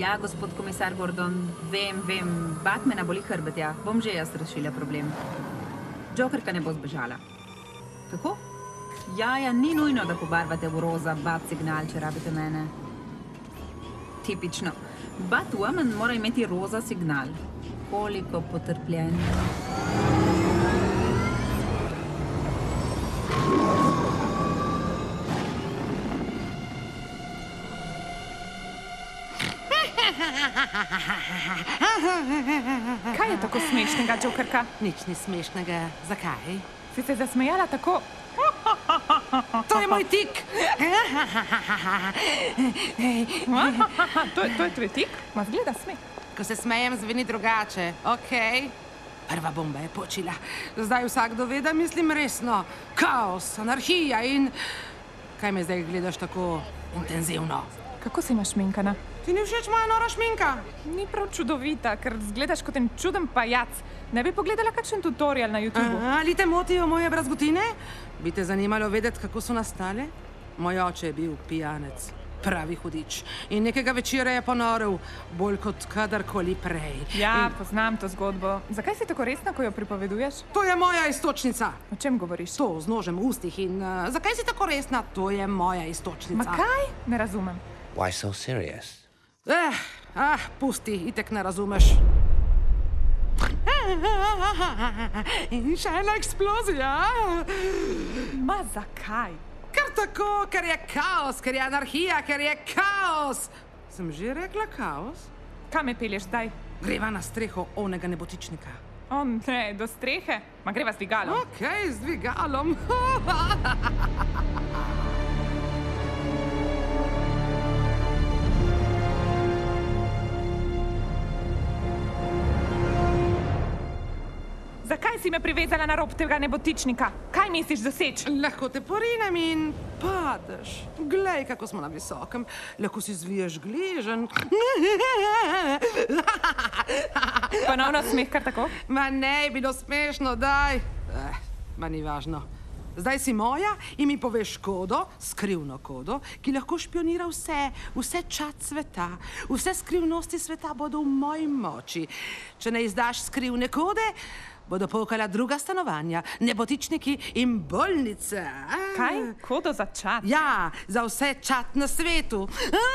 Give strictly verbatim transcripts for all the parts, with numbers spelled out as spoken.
Ja, gospod komisar Gordon, vem, vem, Batmana boli hrbet, ja. Bom že jaz rešila problem. Jokerka ne bo zbežala. Kako? Ja, ja, ni nujno, da pobarvate v roza bat signal, če rabite mene. Tipično. Batwoman mora imeti roza signal. Koliko potrpljenja. Kaj je tako smešnega, Jokerka? Nič ni smešnega. Zakaj? Si se zasmejala tako? To je moj tik! to, to je tvoj tik? Ma zgleda smeh. Ko se smejem, zveni drugače. Okej. Prva bomba je počila. Zdaj vsakdo ve, da mislim resno. Kaos, anarhija in... Kaj me zdaj gledaš tako intenzivno? Kako si našminkana? Ti ni všeč moja nora šminka? Ni prav čudovita, ker zgledaš kot en čuden pajac. Ne bi pogledala kakšen tutorial na YouTubeu? Ali te motijo moje brazgotine? Bi te zanimalo vedeti, kako so nastale? Moj oče je bil pijanec, pravi hudič. In nekega večera je ponoril, bolj kot kadarkoli prej. Ja, In... poznam to zgodbo. Zakaj si tako resna, ko jo pripoveduješ? To je moja iztočnica. O čem govoriš? To z nožem v ustih in... Uh, zakaj si tako resna? To je moja iztočnica. Ma kaj? Ne razumem. Why so serious? Eh, ah, pusti, itek ne razumeš. In še ena eksplozija. Ma zakaj? Ker tako, ker je kaos, ker je anarhija, ker je kaos. Sem že rekla kaos? Kam me pelješ zdaj? Greva na streho onega nebotičnika. O ne, do strehe? Ma greva z dvigalom. Okej, z dvigalom. Zakaj si me privezala na rob tega nebotičnika? Kaj misliš doseči? Lahko te porinem in padeš. Glej, kako smo na visokem. Lahko si zviješ gležen. Ponovno smeh kar tako? Ma ne, bilo smešno, daj. Eh, ma ni važno. Zdaj si moja in mi poveš kodo, skrivno kodo, ki lahko špionira vse, vse čad sveta. Vse skrivnosti sveta bodo v moji moči. Če ne izdaš skrivne kode, bodo pokala druga stanovanja, nebotičniki in bolnice. Kaj? Kodo za čad? Ja, za vse čad na svetu.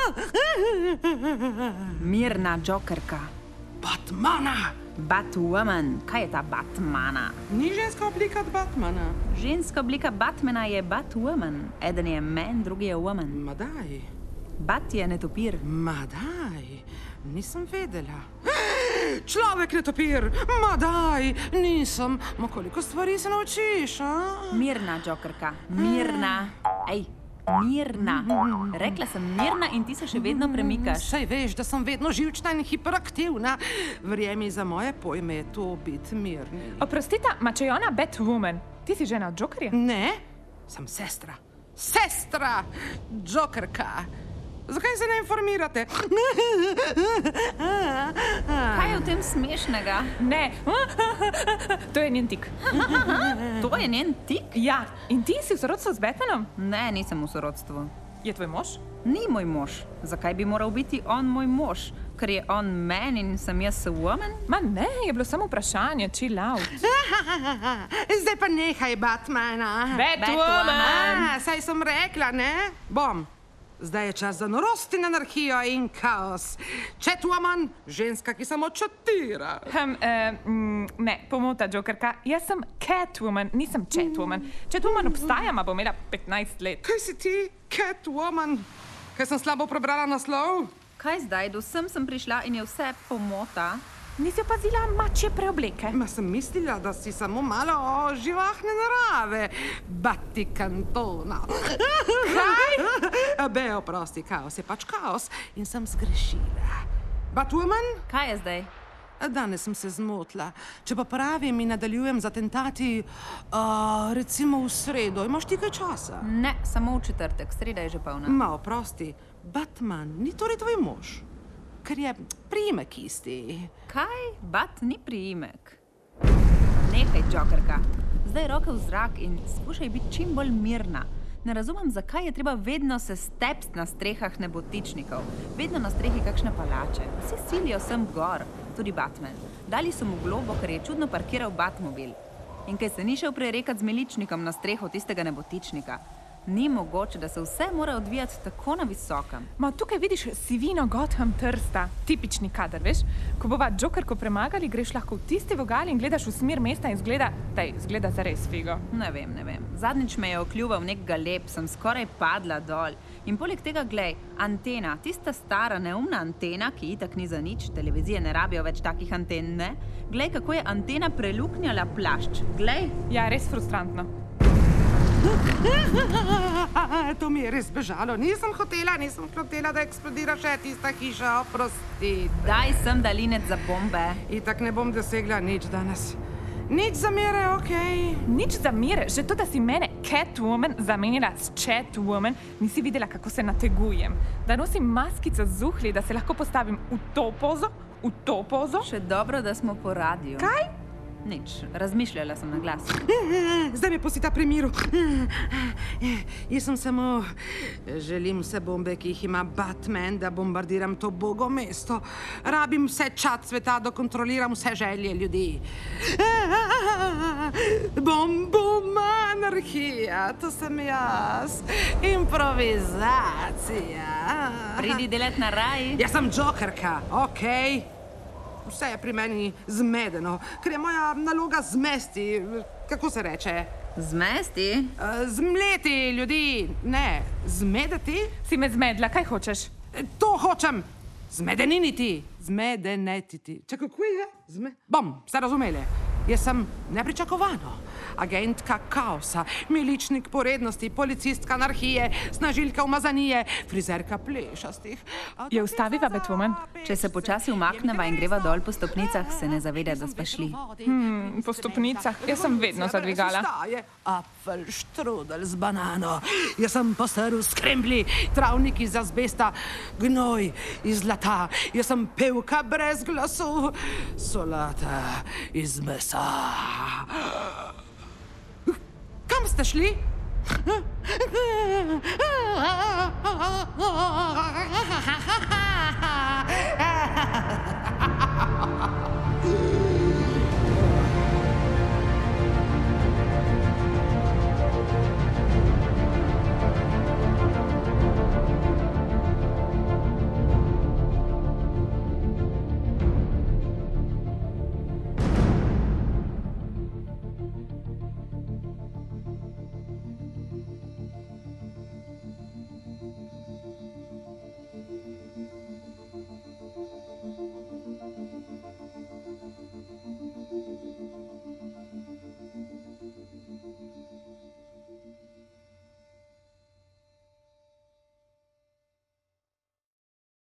Mirna, Jokerka. Batmana! Batwoman. Kaj je ta Batmana? Ni ženska oblika od Batmana. Ženska oblika Batmana je Batwoman. Eden je man, drugi je woman. Ma daj. Bat je netopir. Ma daj. Nisem vedela. Človek netopir! Ma daj! Nisem. Ma koliko stvari se naučiš, a? Mirna, Jokerka. Mirna. Ej, mirna. Rekla sem mirna in ti se še vedno premikaš. Saj veš, da sem vedno živčna in hiperaktivna. Verjemi, za moje pojme je to biti mirni. Oprostita, ma če je ona Batwoman, ti si žena od Jokerja? Ne, sem sestra. Sestra! Jokerka. Zakaj se ne informirate? Kaj je v tem smešnega? Ne. To je njen tik. To je njen tik? Ja, in ti si v sorodstvu z Batmanom? Ne, nisem v sorodstvu. Je tvoj mož? Ni moj mož. Zakaj bi moral biti on moj mož? Ker je on man in sem jaz woman? Ma ne, je bilo samo vprašanje, chill out. Zdaj pa nehaj, Batmana. Batwoman! A, saj sem rekla, ne? Bom. Zdaj je čas za norost in anarhijo in kaos. Catwoman, ženska, ki samo čatira. Hm, eh, mm, ne, pomota, Jokerka. Jaz sem Catwoman, nisem Catwoman. Catwoman obstaja, ma bo imela petnajst let. Kaj si ti, Catwoman? Kaj sem slabo prebrala naslov? Kaj zdaj? Do sem sem prišla in je vse pomota. Nisi opazila mačje preobleke? Ma sem mislila, da si samo malo živahne narave. Bati kantona. Kaj? Be, oprosti, kaos je pač kaos in sem zgrešila. Batwoman? Kaj je zdaj? Danes sem se zmotila. Če pa pravim in nadaljujem z atentati, uh, recimo v sredo, imaš ti kaj časa? Ne, samo v četrtek, sreda je že polna. Ma, oprosti, Batman ni torej tvoj mož? Ker je priimek isti. Kaj? Bat ni priimek. Nehaj, Jokerka. Zdaj roke v zrak in skušaj biti čim bolj mirna. Ne razumem, zakaj je treba vedno se stepst na strehah nebotičnikov. Vedno na strehi kakšne palače. Vsi silijo sem gor, tudi Batman. Dali so mu globo, ker je čudno parkiral Batmobil. In kaj se ni šel prerekat z miličnikom na streho tistega nebotičnika. Ni mogoče, da se vse mora odvijati tako na visokem. Ma tukaj vidiš sivino Gotham Trsta, tipični kader, veš? Ko bova Jokerko premagali, greš lahko v tisti vogal in gledaš v smer mesta in zgleda, tej, zgleda zares figo. Ne vem, ne vem. Zadnjič me je okljuval nek galeb, sem skoraj padla dol. In poleg tega, glej, antena, tista stara neumna antena, ki itak ni za nič, televizije ne rabijo več takih anten, ne? Glej, kako je antena preluknjala plašč. Glej. Ja, res frustrantno. To mi je res bežalo. Nisem hotela, nisem hotela, da eksplodira še tista hiša, oprosti. Daj sem dalinec za bombe. Itak ne bom dosegla nič danes. Nič zamere, okej. Nič zamere, že to, da si mene Catwoman zamenjala s Chatwoman, nisi videla, kako se nategujem. Da nosim maskico z uhli, da se lahko postavim v to pozo, v to pozo. Še dobro, da smo po radiju. Kaj? Nič, razmišljala sem na glas. Zdaj me pustita pri miru. Jaz sem samo... Želim vse bombe, ki jih ima Batman, da bombardiram to bogo mesto. Rabim vse čad sveta, da kontroliram vse želje ljudi. Bom, bom, anarhija, to sem jaz. Improvizacija. Pridi delet na raj. Jaz sem Jokerka, okej? Vse je pri meni zmedeno, ker je moja naloga zmesti, kako se reče? Zmesti? Zmleti ljudi, ne, zmedeti? Si me zmedla, kaj hočeš? To hočem, zmedeniniti, zmedenetiti. Če kako je? Zme... Bom, ste razumeli? Jaz sem nepričakovano. Agentka kaosa, miličnik porednosti, policistka anarhije, snažilka umazanije, frizerka plešastih. Je ustaviva, Batwoman? Če se počasi umakneva in greva dol po stopnicah, se ne zaveda, da sva šli. Hmm, po stopnicah? Jaz sem vedno zadvigala. Apfel štrudel z banano. Jaz sem postrl skrembli, travnik iz azbesta, gnoj iz zlata. Jaz sem pevka brez glasu, solata iz mesa. Kam ste šli?